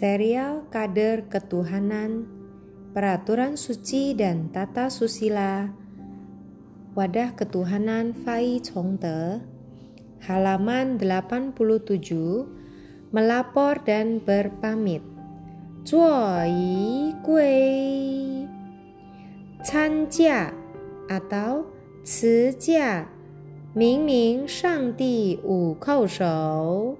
serial kader ketuhanan, peraturan suci dan tata susila, wadah ketuhanan Fai Chongde, halaman 87, melapor dan berpamit. Zuo yi gui, canjia atau cijia, mingming Shangdi wu kou shou,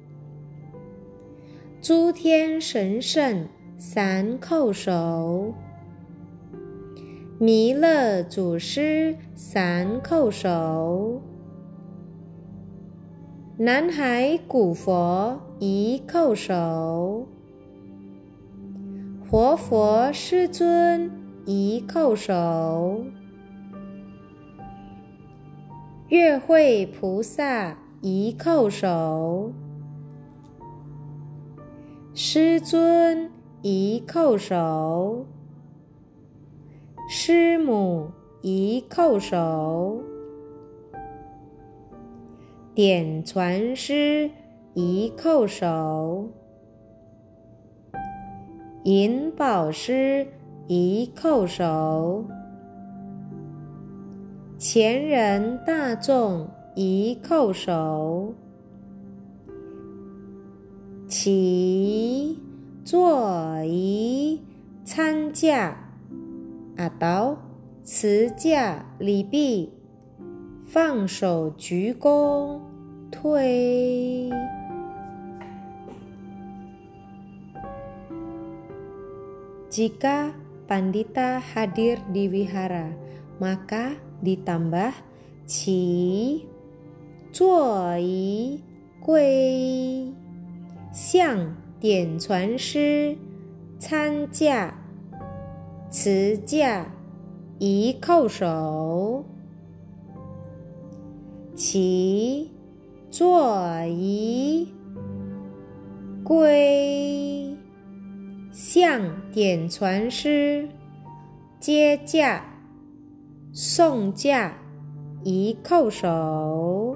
诸天神圣三叩首，弥勒祖师三叩首，南海古佛一叩首，活佛师尊一叩首，月慧菩萨一叩首，师尊一叩首，师母一叩首，点传师一叩首，引导师一叩首，前人大众一叩首，起坐仪参驾 atau 持驾礼毕，放手鞠躬退。Jika pandita hadir di wihara, maka ditambah qi, zuo yi, gui, 向点传师参驾持驾一叩首，起坐仪归，向点传师接驾送驾一叩首。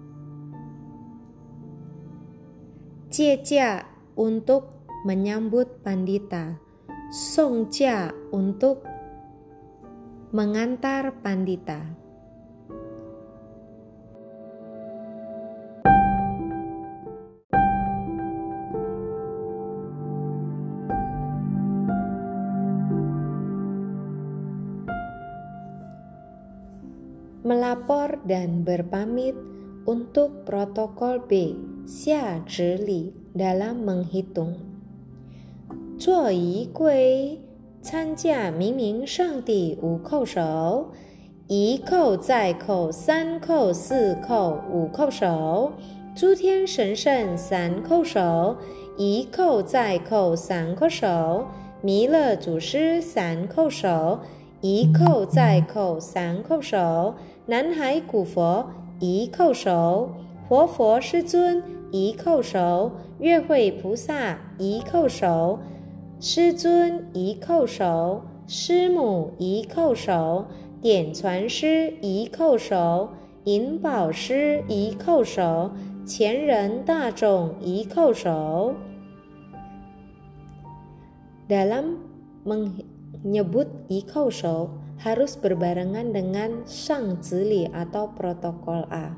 接驾 untuk menyambut pandita, songja untuk mengantar pandita. Melapor dan berpamit untuk protokol B, xia zhili, dalam menghitung. 坐仪归，参驾明明上帝五叩首，一叩再叩三叩四叩五叩首，诸天神圣三叩首，一叩再叩三叩首，弥勒祖师三叩首，一叩再叩三叩首，南海古佛一叩首，活佛师尊一叩首，月慧菩萨一叩首，师尊一叩首，师母一叩首，点传师一叩首，引导师一叩首，前人大众一叩首。Dalam menyebut ikau show harus berbarengan dengan sang zili atau protokol A.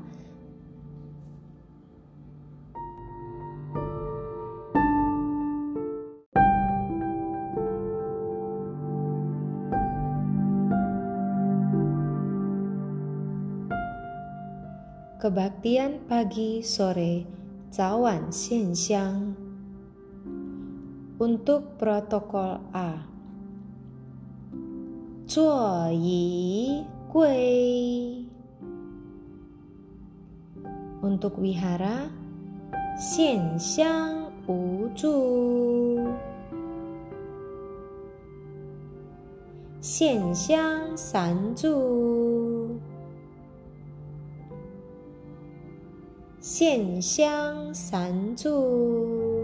Kebaktian pagi sore, cawan xianxiang. Untuk protokol A, 坐仪归。 Untuk wihara, 献香无助，献香三炷，献香三炷，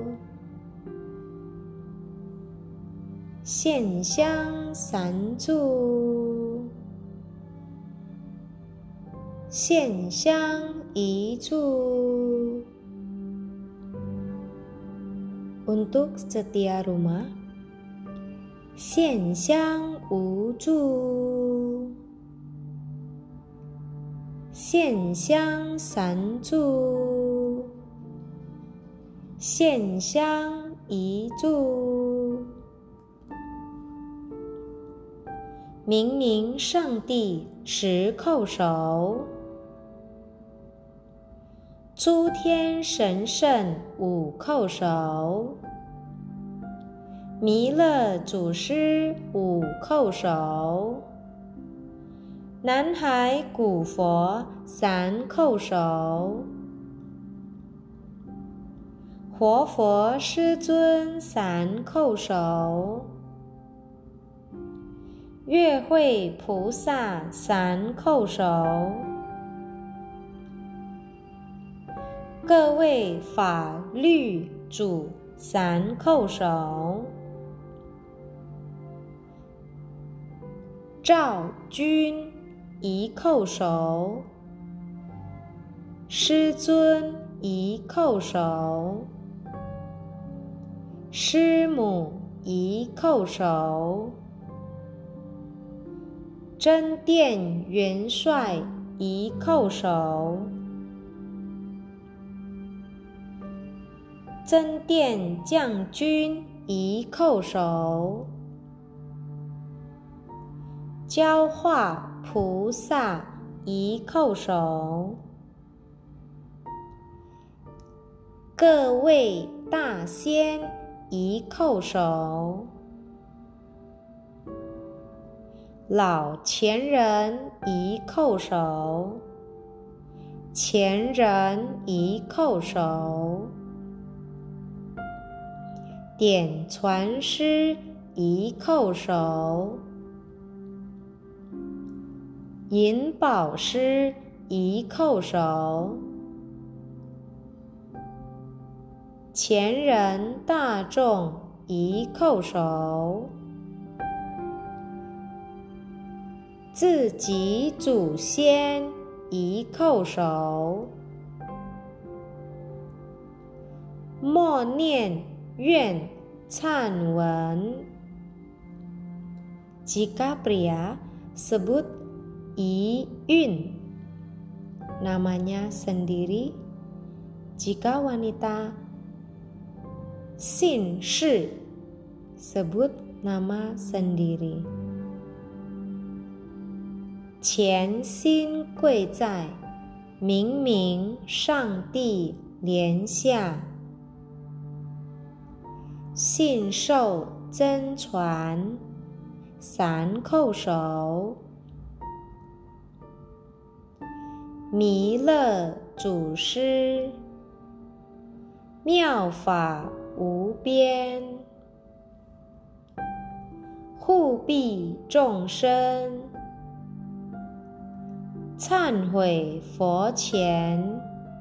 献香三炷，献香一炷， Untuk setia rumah, 线香无助，线香三柱，线香一柱。明明上帝十叩首，诸天神圣五叩首，弥勒祖师五叩首，南海古佛三叩首，活佛师尊三叩首，月慧菩萨三叩首，各位法律主三叩首，赵君一叩首，师尊一叩首，师母一叩首，真殿元帅一叩首，真殿将军一叩首，教化菩萨一叩首，各位大仙一叩首，老前人一叩首，前人一叩首，点传师一叩首，银宝师一叩首，前人大众一叩首，自己祖先一叩首，默念愿忏文。Jika pria sebut I Yun, namanya sendiri. Jika wanita Xin Shi, sebut nama sendiri. 潜心跪在明明上帝帘下，信受真传三叩首，弥勒祖师妙法无边，护庇众生，忏悔佛前，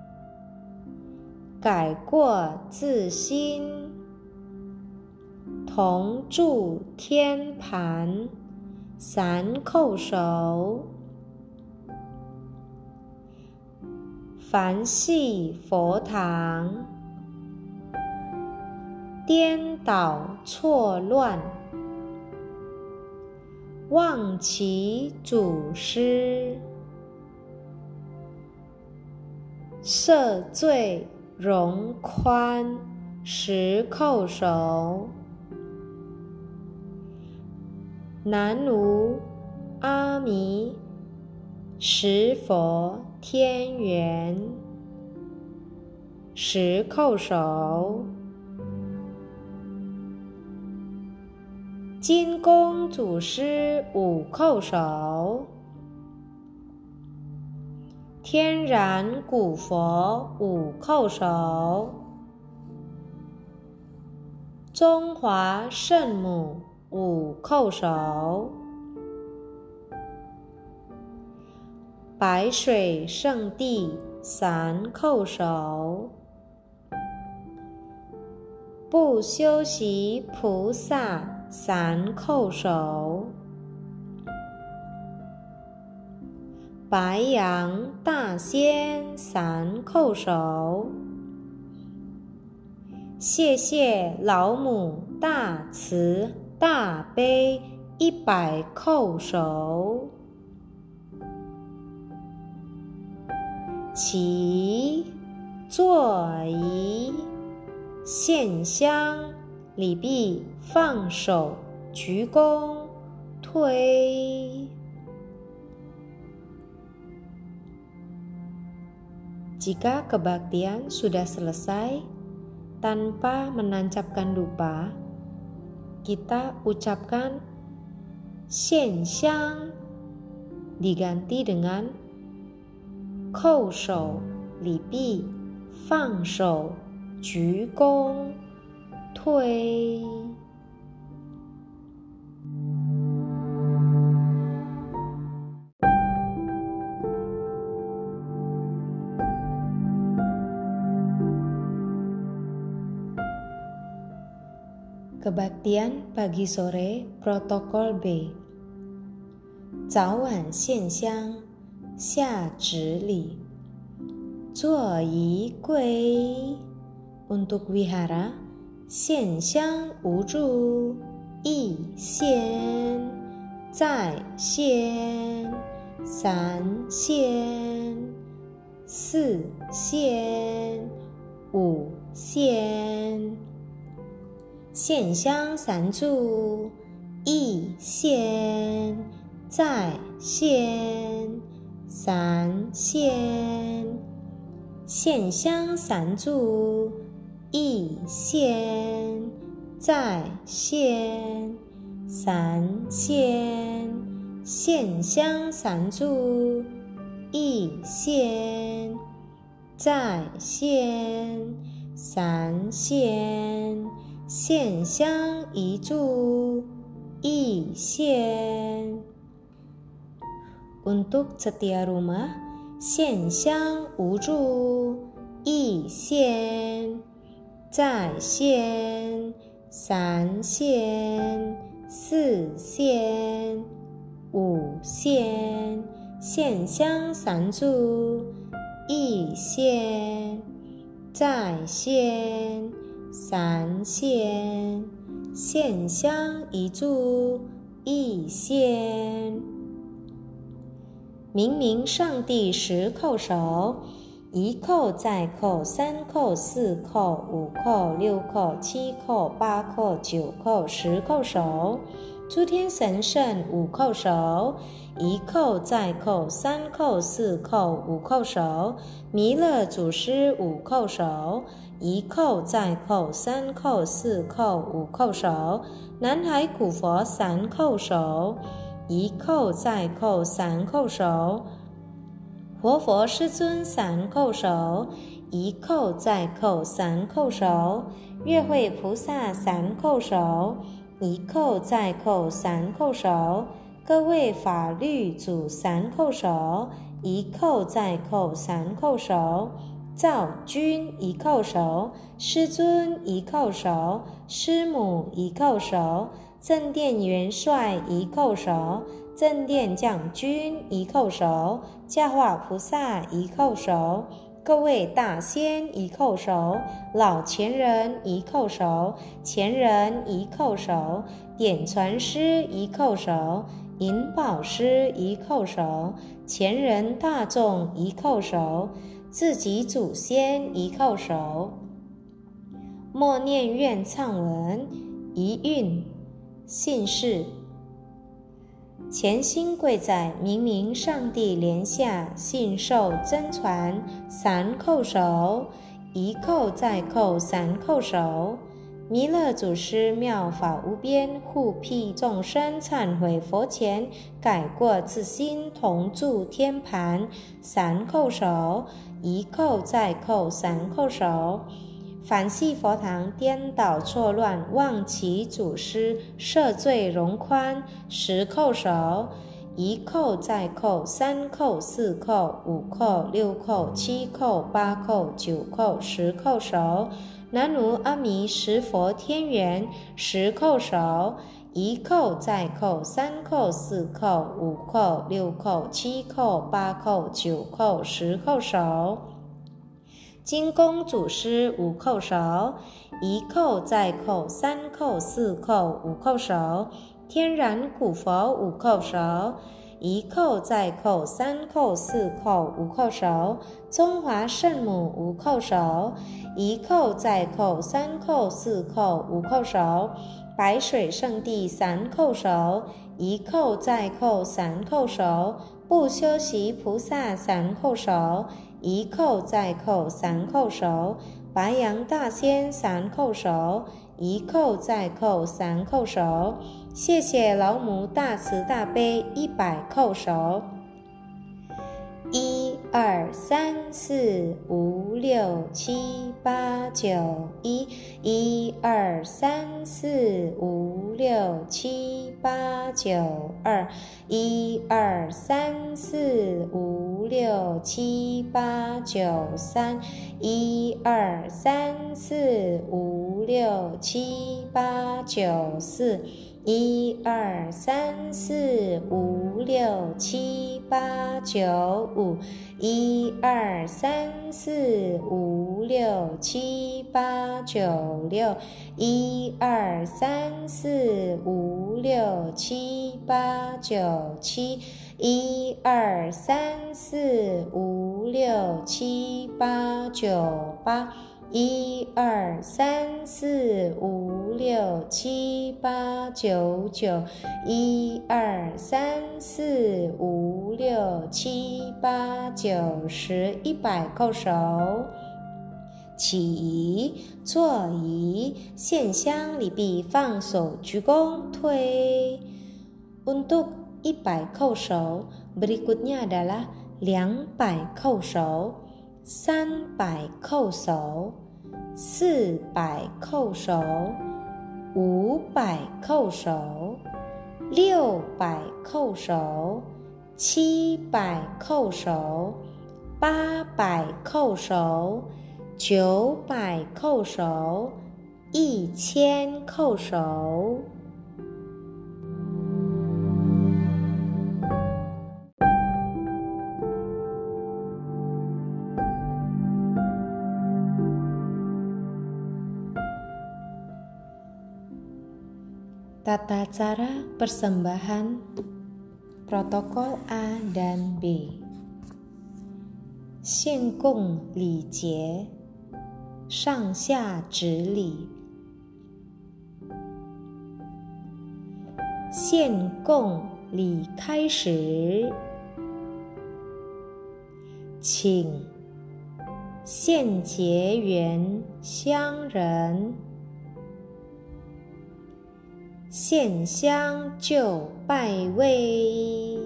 改过自新，同住天盘三叩首，凡系佛堂，颠倒错乱，忘其祖师，赦罪容宽十叩首，南无阿弥十佛天缘十叩首，金公祖师五叩首，天然古佛五叩首，中华圣母五叩首，白水圣地三叩首，不修习菩萨三叩首，白羊大仙三叩首， 谢谢老母大慈大悲100叩首。起，坐仪，献香，礼毕，放手，鞠躬，推。Jika kebaktian sudah selesai, tanpa menancapkan dupa, kita ucapkan 献香 diganti dengan 叩首、礼毕、放手、鞠躬、推。Kebaktian pagi sore protokol B. 早晚献香，下指礼。坐仪跪 untuk wihara 献香无助，一献，再献，三献，四献，五献。献香三炷，一献，再献，三献。献香三炷，一献，再献，三献。献香三炷，一献，再献，三献。献香一炷，一献。Untuk setia rumah, 献香无助，一献，再献，三献，四献，五献。献香三炷，一献，再献，三献。献香一炷，一献。明明上帝10叩首，1叩再叩，3叩4叩5叩6叩7叩8叩9叩10叩首。诸天神圣5叩首，1叩再叩，3叩4叩5叩首。弥勒祖师5叩首，1叩再叩，3叩4叩5叩首。南海古佛3叩首，1叩再叩3叩首。活佛师尊3叩首，1叩再叩3叩首。月慧菩萨3叩首，1叩再叩3叩首。各位法律祖3叩首，1叩再叩3叩首。造君1叩首，师尊1叩首，师母1叩首，正殿元帅1叩首，正殿将军1叩首，教化菩萨1叩首，各位大仙1叩首，老前人1叩首，前人1叩首，点传师1叩首，引宝师1叩首，前人大众1叩首，自己祖先1叩首。默念愿忏文一韵，姓氏。虔心跪在明明上帝莲下，信受真传3叩首，1叩再叩3叩首。弥勒祖师妙法无边，护庇众生忏悔佛前，改过自新，同住天盘3叩首，1叩再叩3叩首。反系佛堂颠倒错乱，忘其祖师，赦罪容宽10叩首，1叩再叩3叩4叩5叩6叩7叩8叩9叩10叩首。南无阿弥十佛天元10叩首，1叩再叩3叩4叩5叩6叩7叩8叩9叩10叩首。 金公祖师五叩首，一叩再叩三叩四叩五叩首。天然古佛五叩首，一叩再叩三叩四叩五叩首。中华圣母五叩首，一叩再叩三叩四叩五叩首。白水圣地三叩首，一叩再叩三叩首。不修习菩萨三叩首，一叩再叩三叩首。白羊大仙三叩首，一叩再叩三叩首。谢谢老母大慈大悲100叩首。1、2、3、4、5、6、7、8、9、1。1、2、3、4、5、6、7、8、9、2。1、2、3、4、5、6、7、8、9、3。1、2、3、4、5、6、7、8、9、4。1、2、3、4、5、6、7、8、9、5。1、2、3、4、5、6、7、8、9、6。1、2、3、4、5、6、7、8、9、7。1、2、3、4、5、6、7、8、9、8。1、2、3、4、5、6、7、8、9、9。1、2、3、4、5、6、7、8、9、10。100叩首。起仪，坐仪，献香礼毕，放手鞠躬，退。Untuk 100 叩首， berikutnya adalah 200 叩首。300叩首，400叩首，500叩首，600叩首，700叩首，800叩首，900叩首，1000叩首。Tata cara persembahan protokol A dan B. 献供礼节，上下直礼。献供礼开始，请献结缘香人献香就拜位，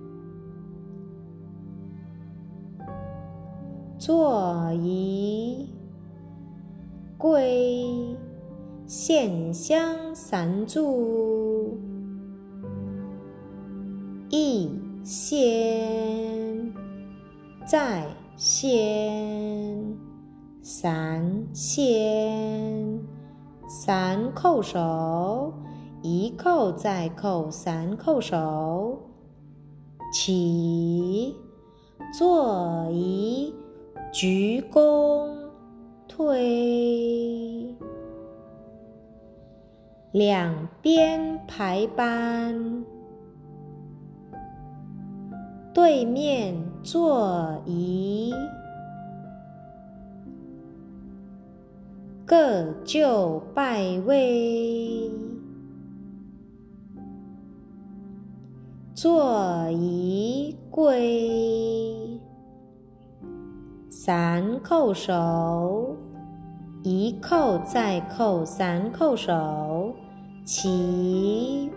坐仪跪，献香三炷，一献，再献，三献。3叩首，一叩再叩3叩首。起，坐仪，鞠躬，退。两边排班，对面坐仪，各就拜位。坐仪跪，3叩首，一叩再叩3叩首。起，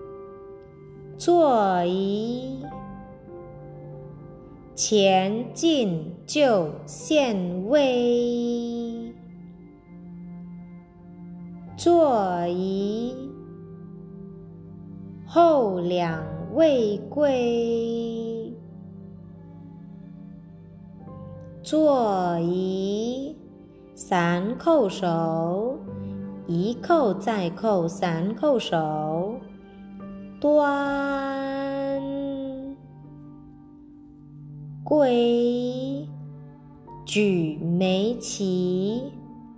坐仪，前进就献位。坐仪，后两位跪。坐仪，3叩首，一叩再叩3叩首。端，跪， 举眉齐，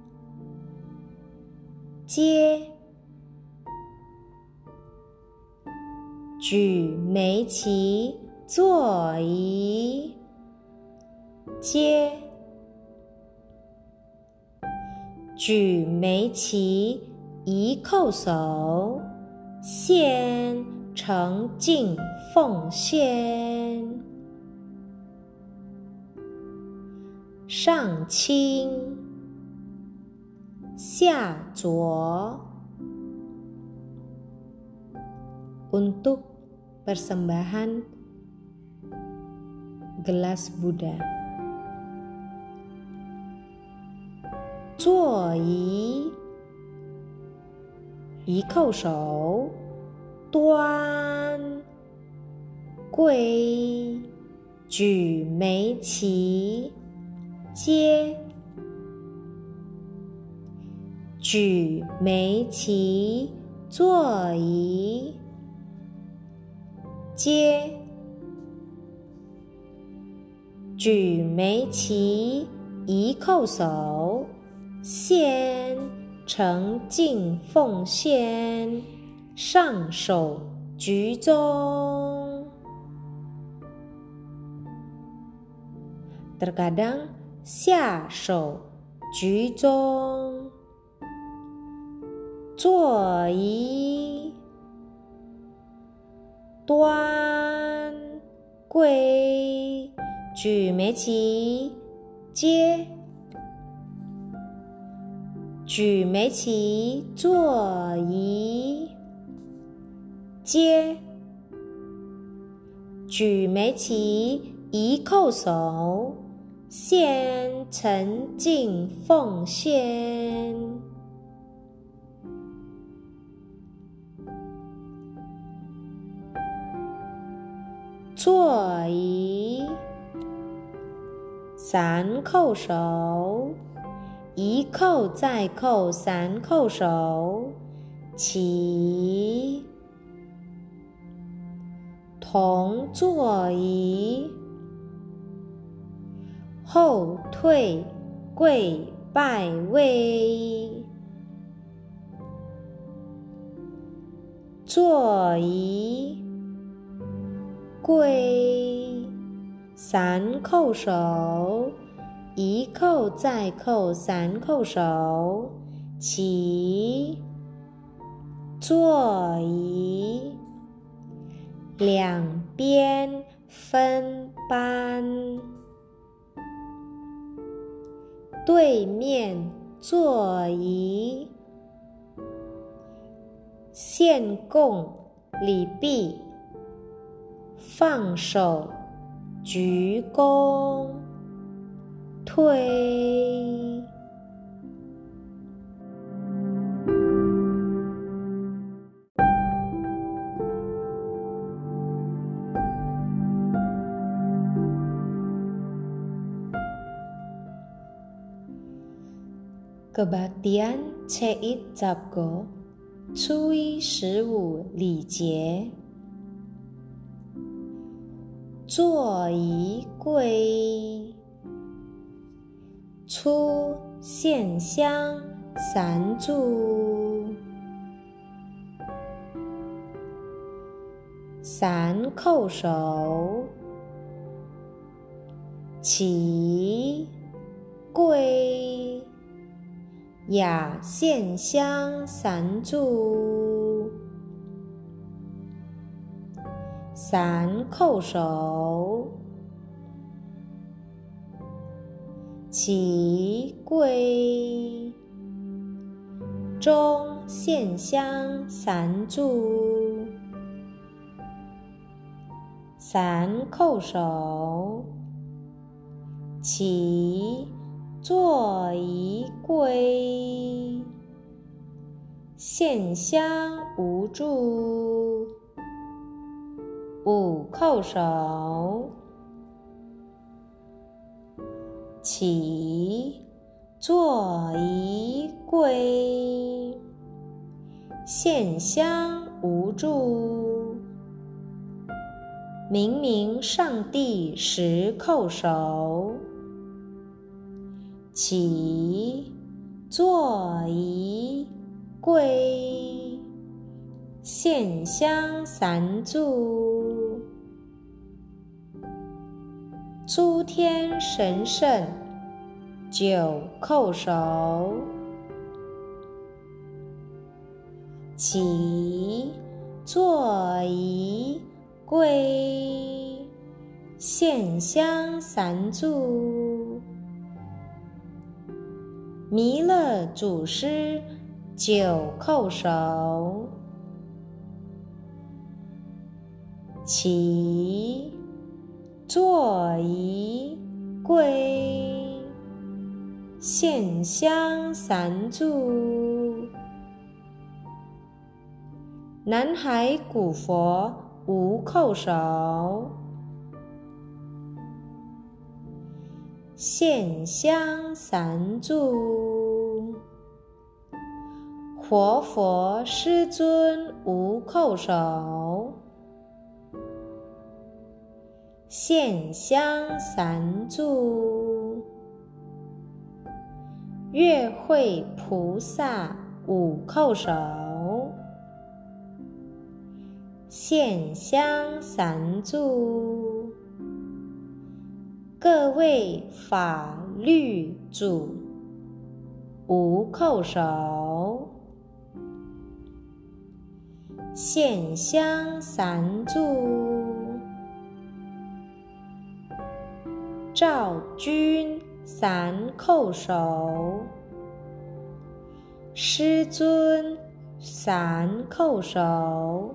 接，举眉齐，坐仪，接，举眉齐，一叩首，献诚敬奉献。上倾，下着。Untuk persembahan gelas Buddha. 坐仪，一叩首，端，跪，举眉齐，接，举眉齐，坐仪，接，举眉齐，一叩首，献诚敬奉献，上手居中。Terkadang 下手居中，坐仪，端，跪，举眉齐，接，举眉齐，坐仪，接，举眉齐，一叩首，献诚敬奉献。坐仪，三叩首，一叩再叩，三叩首，齐，同坐仪，后退，跪拜位，坐仪，跪，三叩首，一叩再叩，三叩首，齐，坐仪，两边分班，对面坐仪，献供礼毕，放手鞠躬，退。Kebaktian Ceit Zabgo 初一15礼节，坐仪跪，初献香三炷，三叩首，齐，跪，雅献香三炷，三叩首，齐，跪，中献香三炷，三叩首，齐，坐仪跪，献香无住，五叩首，齐，坐仪跪，献香无住，明明上帝十叩首， 起，坐仪，归，献香三炷。诸天神圣九叩首。起，坐仪，归，献香三炷。弥勒祖师九叩首。起，坐仪，归，献香三炷。南海古佛无叩首。献香三炷。活佛师尊无叩首。献香三炷。月慧菩萨五叩首。献香三炷。各位法律主无叩首。献香三炷。赵君三叩首。师尊三叩首。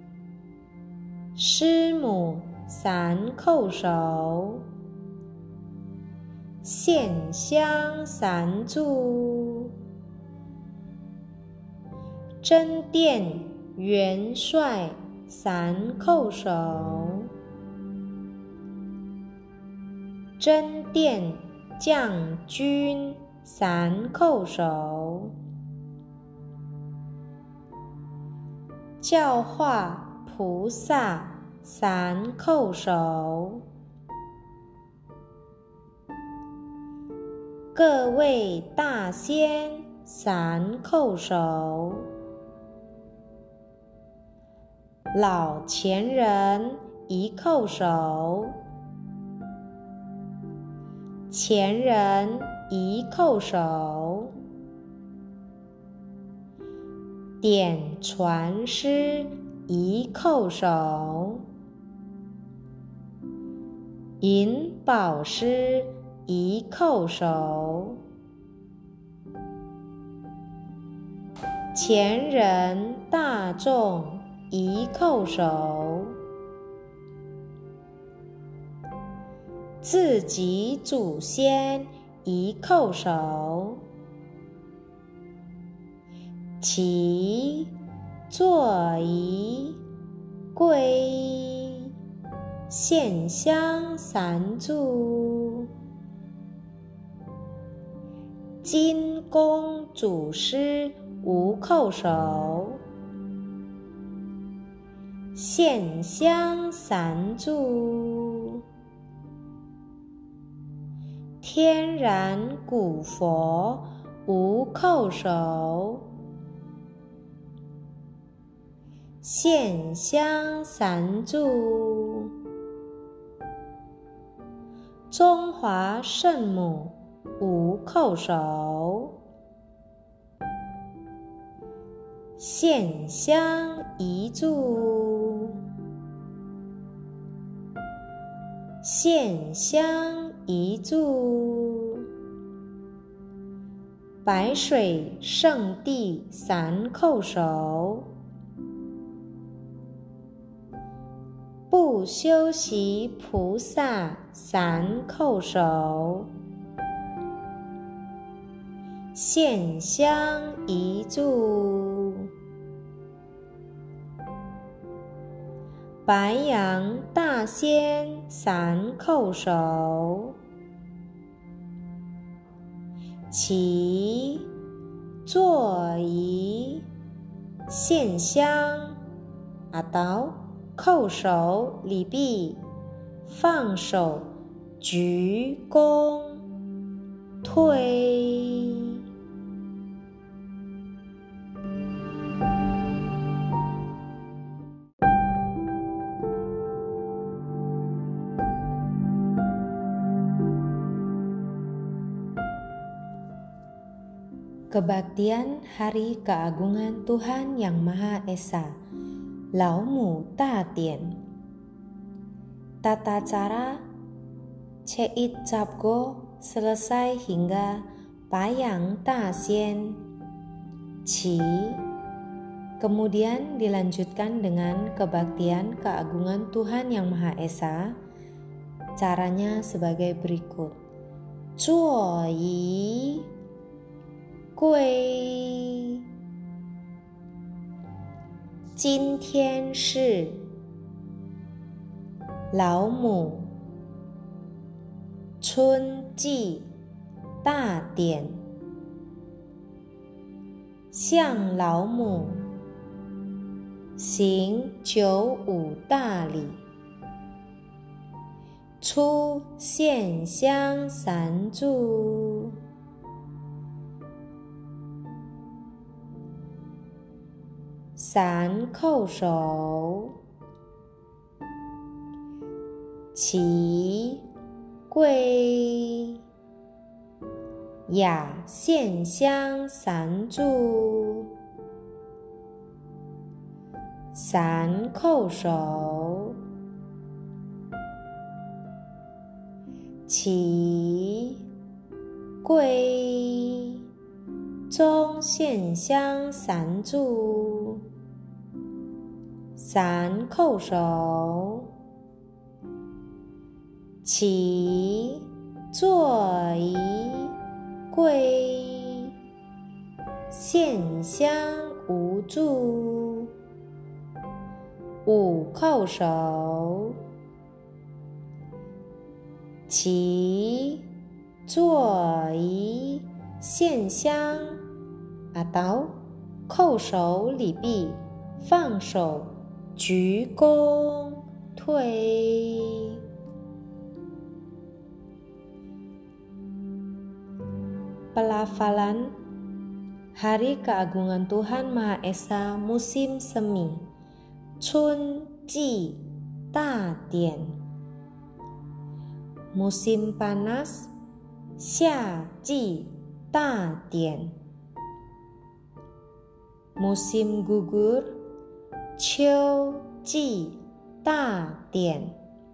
师母三叩首。献香三炷。真殿元帅三叩首。真殿将军三叩首。教化菩萨三叩首。各位大仙三叩首。老前人一叩首。前人一叩首。点传师一叩首。引导师一叩首。前人大众一叩首。自己祖先一叩首。起，坐仪，归，献香三炷。金公祖师无叩首。献香三炷。天然古佛无叩首。献香三炷。中华圣母无叩首。献香一炷。献香一炷。白水圣地三叩首。不修习菩萨三叩首。献香一炷。白羊大仙三叩首。起，坐仪，献香。阿道叩首礼毕，放手鞠躬。 推。Kebaktian Hari Keagungan Tuhan Yang Maha Esa, Laomu Ta Tian. Tata cara Ceit Capgo selesai hingga Payang Ta Sien Qi. Kemudian dilanjutkan dengan kebaktian keagungan Tuhan Yang Maha Esa. Caranya sebagai berikut. Zuo yi gui. 今天是老母春季大典，向老母行95大礼，出献香三炷。三叩首，齐跪，雅献香三炷。三叩首，齐跪，中献香三炷。三叩首，齐坐仪跪，献香无炷。五叩首，齐坐仪献香 atau 叩首礼毕，放手鞠躬退。Pelafalan Hari Keagungan Tuhan Maha Esa Musim Semi, Chun Ji Ta Dian. Musim panas, Xia Ji Ta Dian. Musim gugur, Qiu Ji Ta Dian.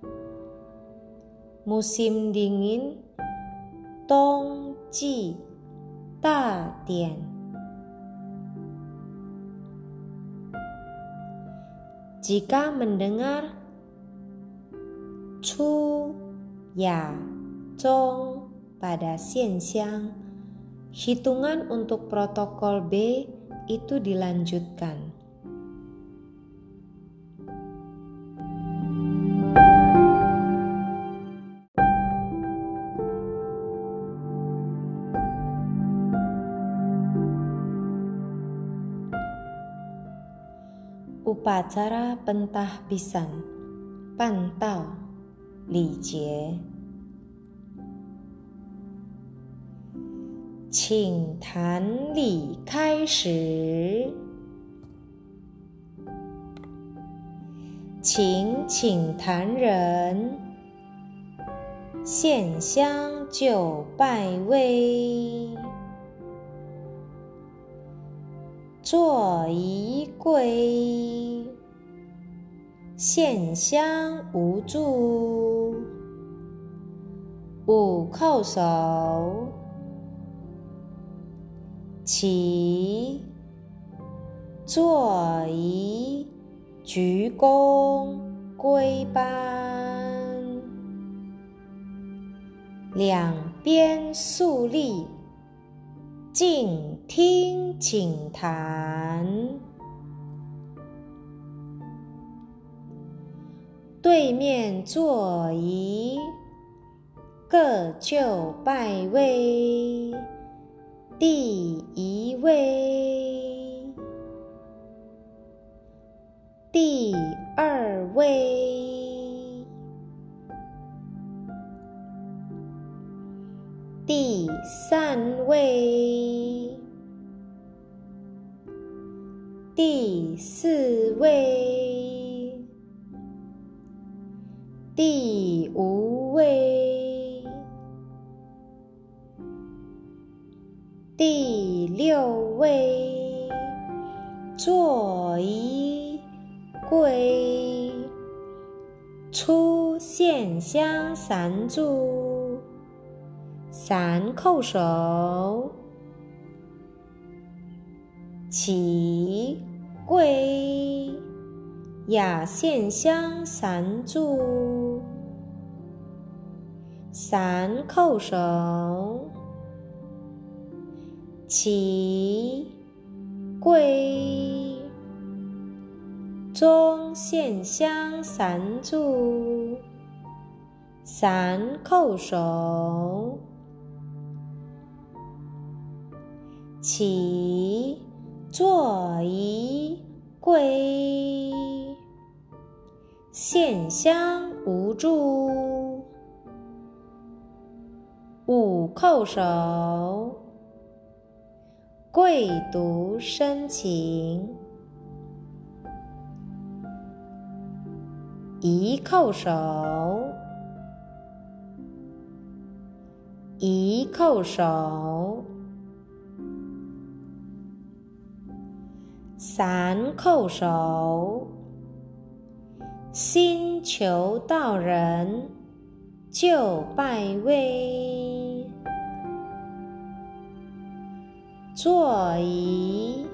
Musim dingin, Dong Ji Ta Dian. Jika mendengar Chu, Ya, Zong pada xianxiang, hitungan untuk protokol B itu dilanjutkan. Upacara pentahbisan, pantau, lijie. 请坛礼开始，请坛人献香就拜位，坐仪跪，献香无炷。五叩首，齐坐仪鞠躬归班，两边肃立，静听请坛。对面坐仪，各就拜位。第一位，第二位， 第第3位，第4位，第5位，第6位，坐仪归，出现香3炷，3叩首，起跪，雅现香3炷，3叩首，起跪，中现香3炷，3叩首，起坐仪归，献香5炷，5叩首，跪读申请，1叩首，1叩首，3叩首，心求道人就拜位，坐仪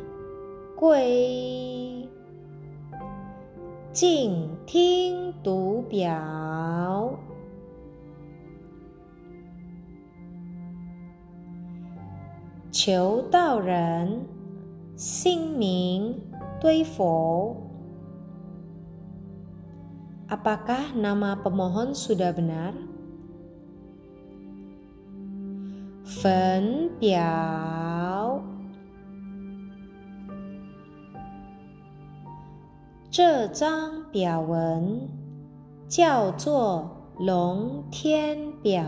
归，静听读表，求道人姓名堆佛。Apakah nama pemohon sudah benar? 分表，这张表文叫做龙天表，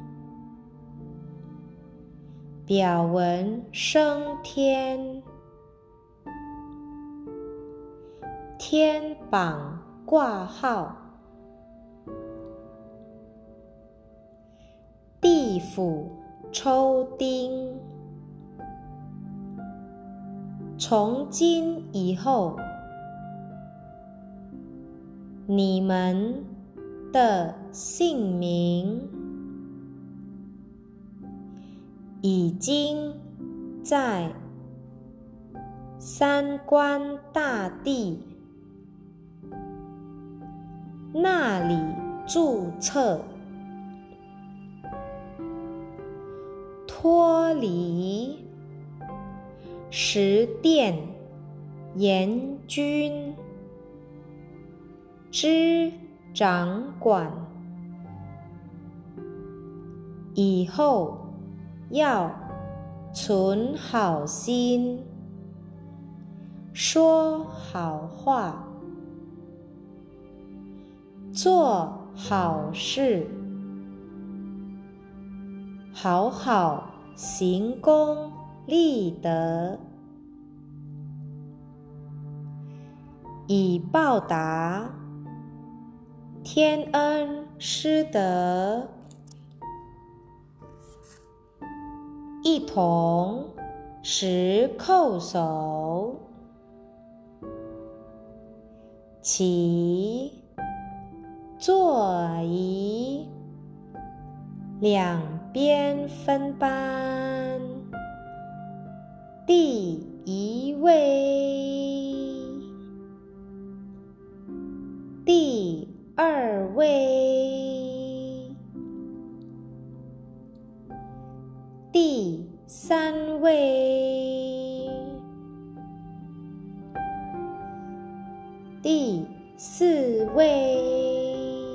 表文升天，天榜挂号，地府抽丁。从今以后，你们的姓名已经在三官大帝那里注册，脱离十殿阎君之掌管，以后要存好心，说好话，做好事，好好行功立德，以报答天恩师德，一同10叩首，起坐仪，两边分班，第1位，第2位，第3位，第4位，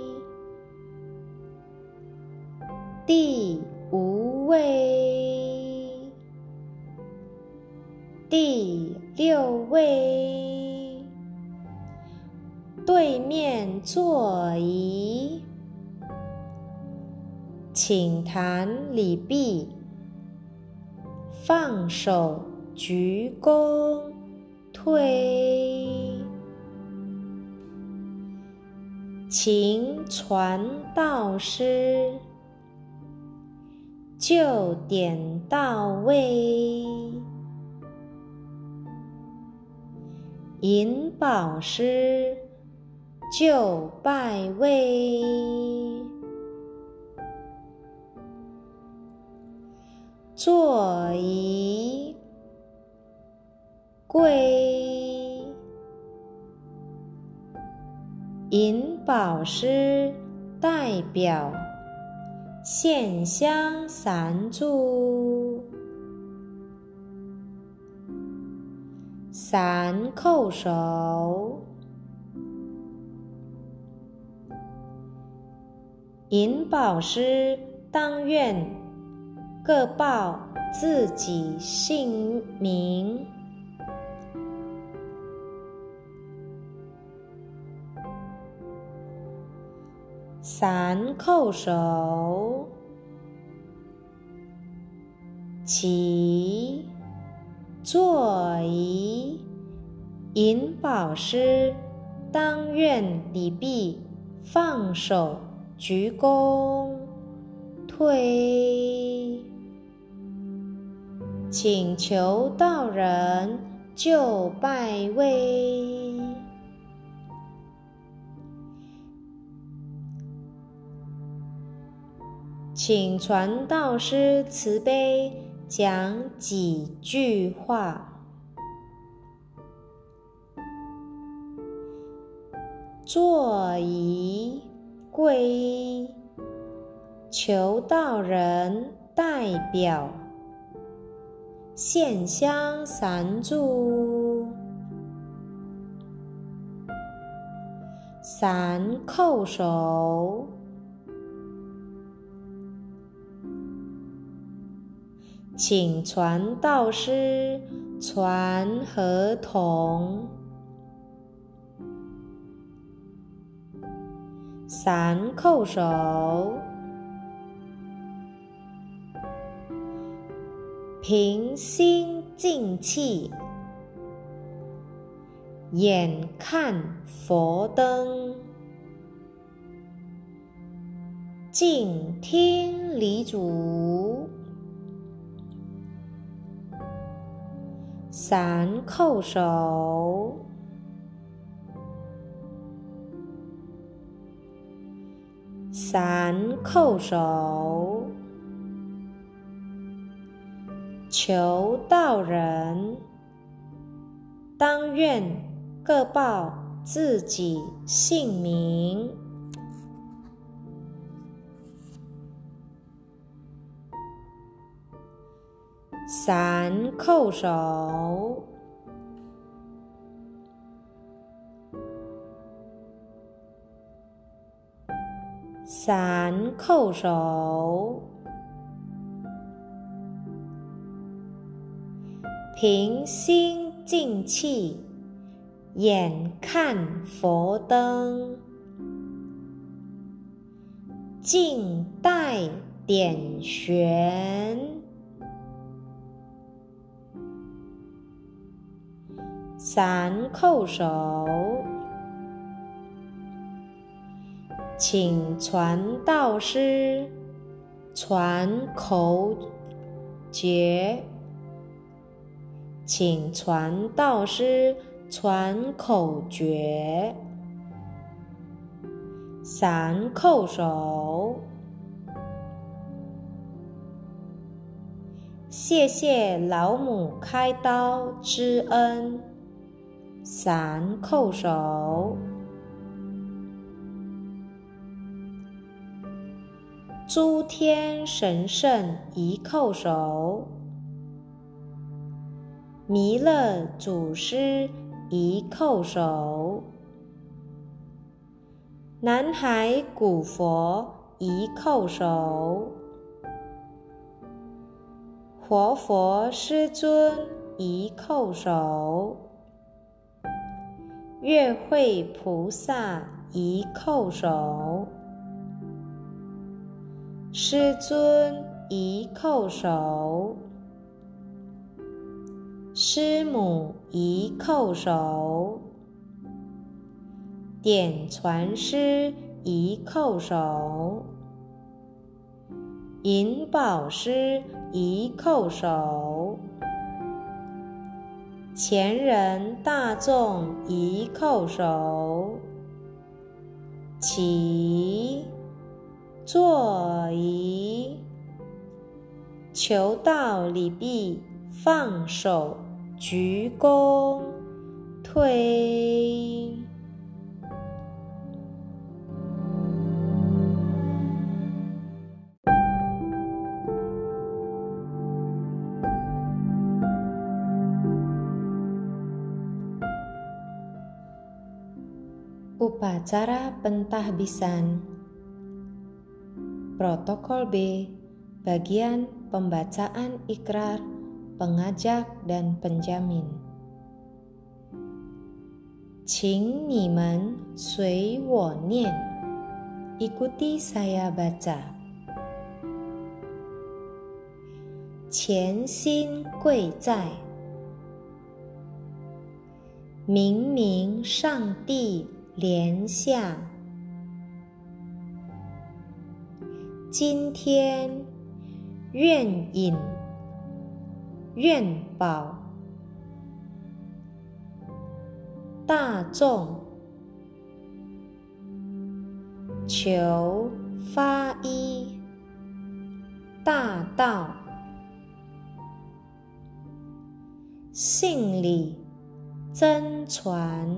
第5位，第6位，对面坐仪， 请弹礼毕，放手鞠躬退。请传道师，就点到位。引导师，就拜位。坐仪归，引导师代表献香三炷，三叩首。引导师当愿各报自己姓名。三叩首，起，坐仪。引导师当愿礼毕，放手鞠躬退。请求道人就拜位。请传道师慈悲讲几句话。坐仪归，求道人代表献香三炷，三叩首。请传道师传合同，三叩首。平心静气，眼看佛灯，静听礼主，三叩首。三叩首。求道人当愿各报自己姓名。三叩首。三叩首。平心静气，眼看佛灯，静待点悬。三叩首。请传道师传口诀。请传道师传口诀。三叩首。谢谢老母开刀之恩。三叩首。诸天神圣一叩首。弥勒祖师一叩首。南海古佛一叩首。活佛师尊一叩首。月慧菩萨一叩首。 师尊宜叩首，师母宜叩首，点传师宜叩首，引导师宜叩首，前人大众宜叩首，起，坐仪，求道礼毕，放手，鞠躬，退。Upacara pentahbisan. Protokol B, bagian pembacaan ikrar pengajak dan penjamin. 请你们随我念 Ikuti saya baca. 潜心贵在，明明上帝莲下，今天愿引愿保大众，求发一大道，信理真传，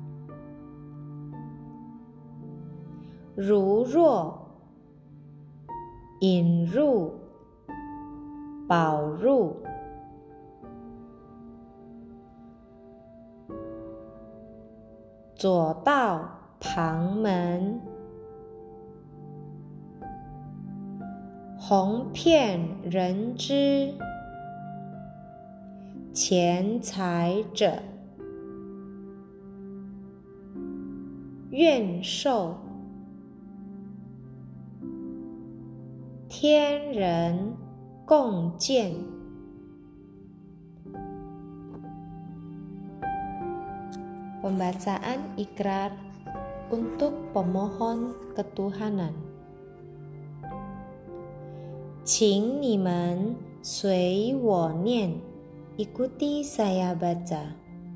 如若引入保入，左道旁门，弘遍人知，钱财者愿受，天人共见。Pembacaan ikrar untuk pemohon ketuhanan. 请你们随我念 Ikuti saya baca.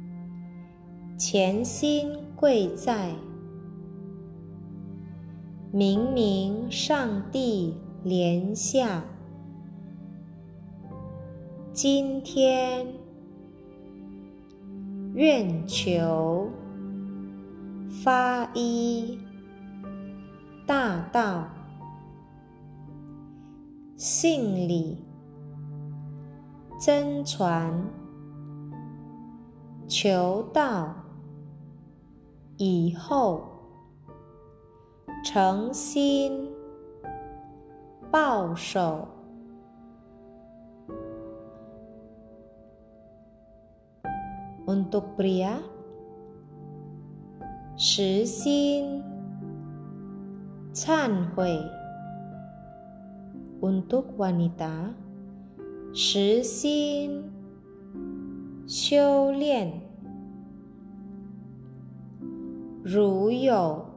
潜心贵在，明明上帝莲下，今天愿求发一大道，信理真传，求道以后，诚心抱守，Untuk pria, 实心忏悔 Untuk wanita, 实心修炼，如有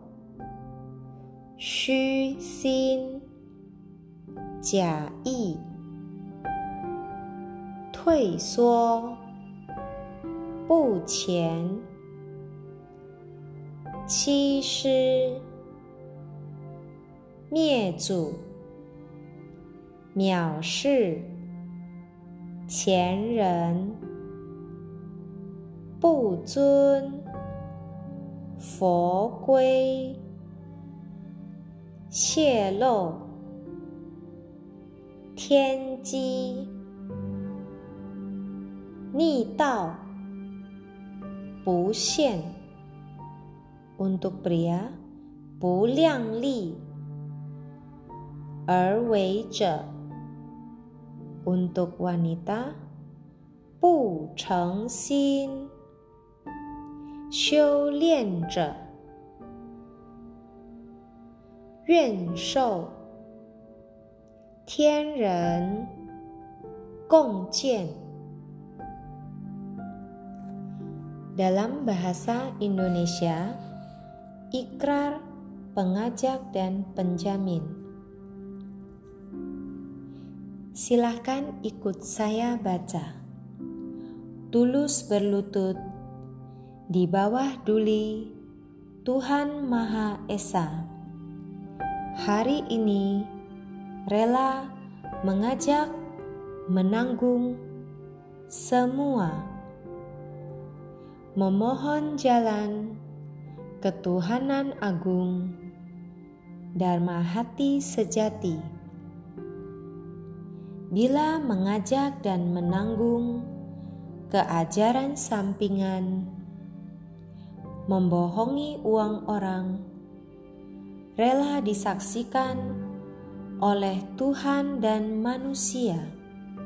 虚心假意退缩不前，欺师灭祖，藐视前人，不尊佛规，泄露天机，逆道不现 Untuk pria 不量力而为者 Untuk wanita 不诚心修炼者，愿受天人共建. Dalam bahasa Indonesia, ikrar pengajak dan penjamin. Silahkan ikut saya baca. Tulus berlutut di bawah duli Tuhan Maha Esa. Hari ini rela mengajak menanggung semua. Memohon jalan ketuhanan agung, Dharma hati sejati. Bila mengajak dan menanggung keajaran sampingan, membohongi uang orang, rela disaksikan oleh Tuhan dan manusia.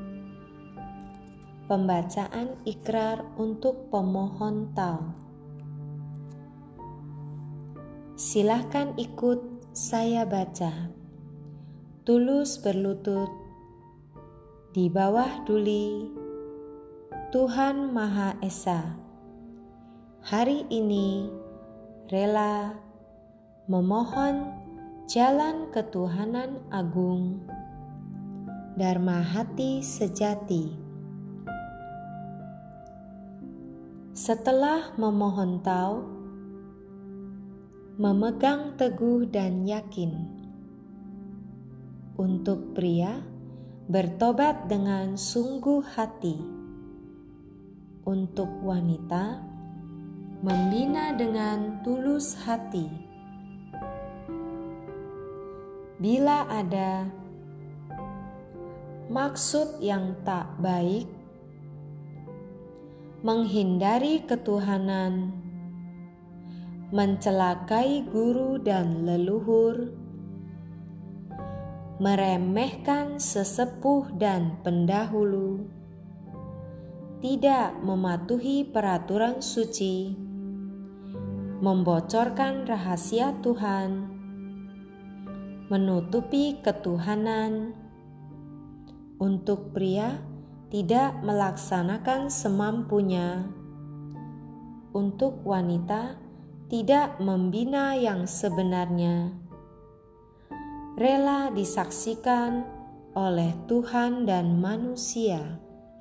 Pembacaan ikrar untuk pemohon Tao. Silahkan ikut saya baca. Tulus berlutut di bawah duli Tuhan Maha Esa. Hari ini rela memohon jalan ketuhanan agung, Dharma hati sejati. Setelah memohon Tao, memegang teguh dan yakin. Untuk pria, bertobat dengan sungguh hati. Untuk wanita, membina dengan tulus hati. Bila ada maksud yang tak baik, menghindari ketuhanan, mencelakai guru dan leluhur, meremehkan sesepuh dan pendahulu, tidak mematuhi peraturan suci, membocorkan rahasia Tuhan, menutupi ketuhanan. Untuk pria, tidak melaksanakan semampunya. Untuk wanita, tidak membina yang sebenarnya. Rela disaksikan oleh Tuhan dan manusia.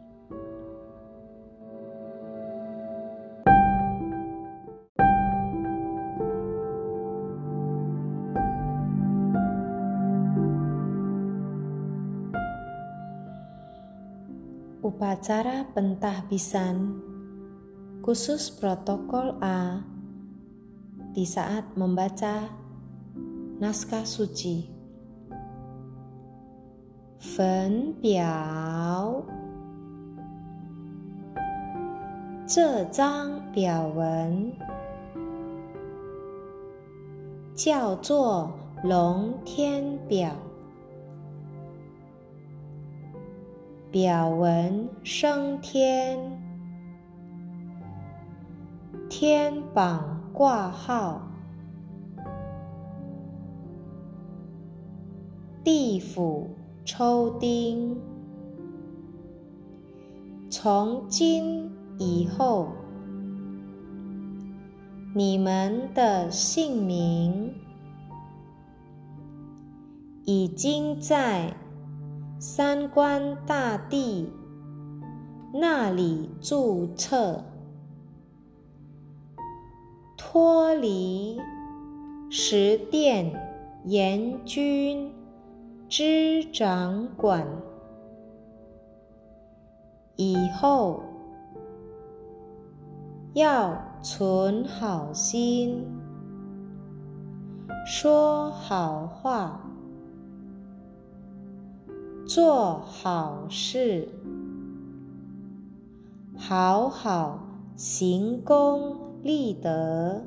Upacara pentahbisan khusus protokol A di saat membaca naskah suci. Fen biao. 这张表文叫做龙天表。表文升天，天榜挂号，地府抽丁。从今以后，你们的姓名已经在三官大帝那里注册，脱离十殿阎君之掌管。以后要存好心，说好话，做好事，好好行功立德，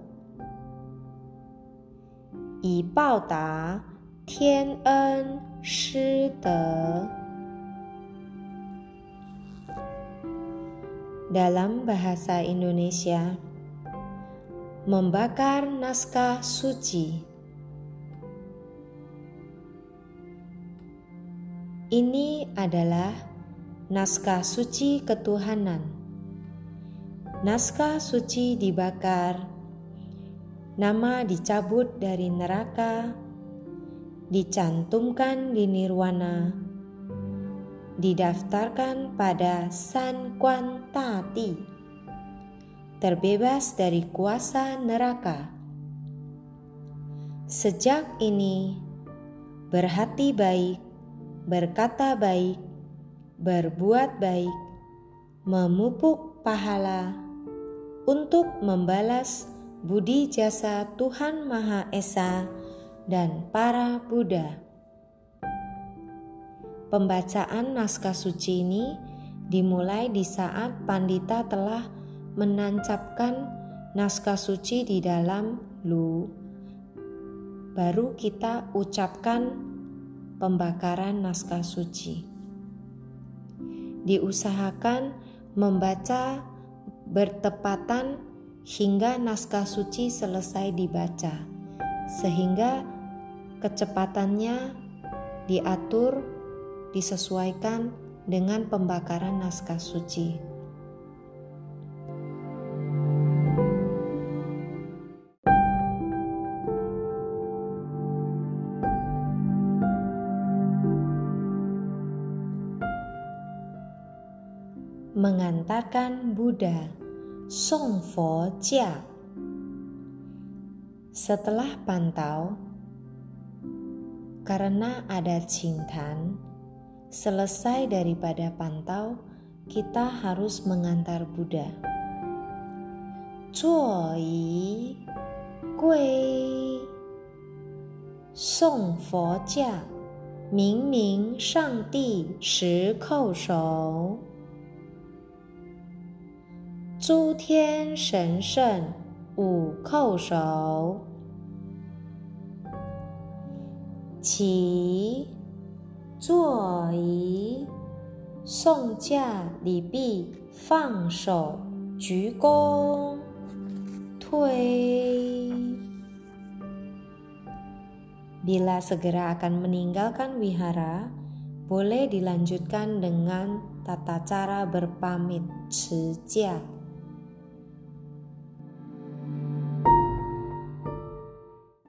以报答天恩师德。Dalam bahasa Indonesia, membakar naskah suci. Ini adalah naskah suci ketuhanan. Naskah suci dibakar, nama dicabut dari neraka, dicantumkan di nirwana, didaftarkan pada San Quan Tati, terbebas dari kuasa neraka. Sejak ini, berhati baik, berkata baik, berbuat baik, memupuk pahala untuk membalas budi jasa Tuhan Maha Esa dan para Buddha. Pembacaan naskah suci ini dimulai di saat pandita telah menancapkan naskah suci di dalam lu. Baru kita ucapkan pembakaran naskah suci. Diusahakan membaca bertepatan hingga naskah suci selesai dibaca, sehingga kecepatannya diatur, disesuaikan dengan pembakaran naskah suci. Mengantarkan Buddha, Song Fo Jia. Setelah pantau, karena ada Qingtan, selesai daripada pantau, kita harus mengantar Buddha. Zuo yi gui, Song Fo Jia, Ming Ming Shang Di Shi Kou Shou. 诸天神圣五叩首，起，坐仪，送驾礼毕，放手，鞠躬，退。 Bila segera akan meninggalkan wihara, boleh dilanjutkan dengan tata cara berpamit, 持驾.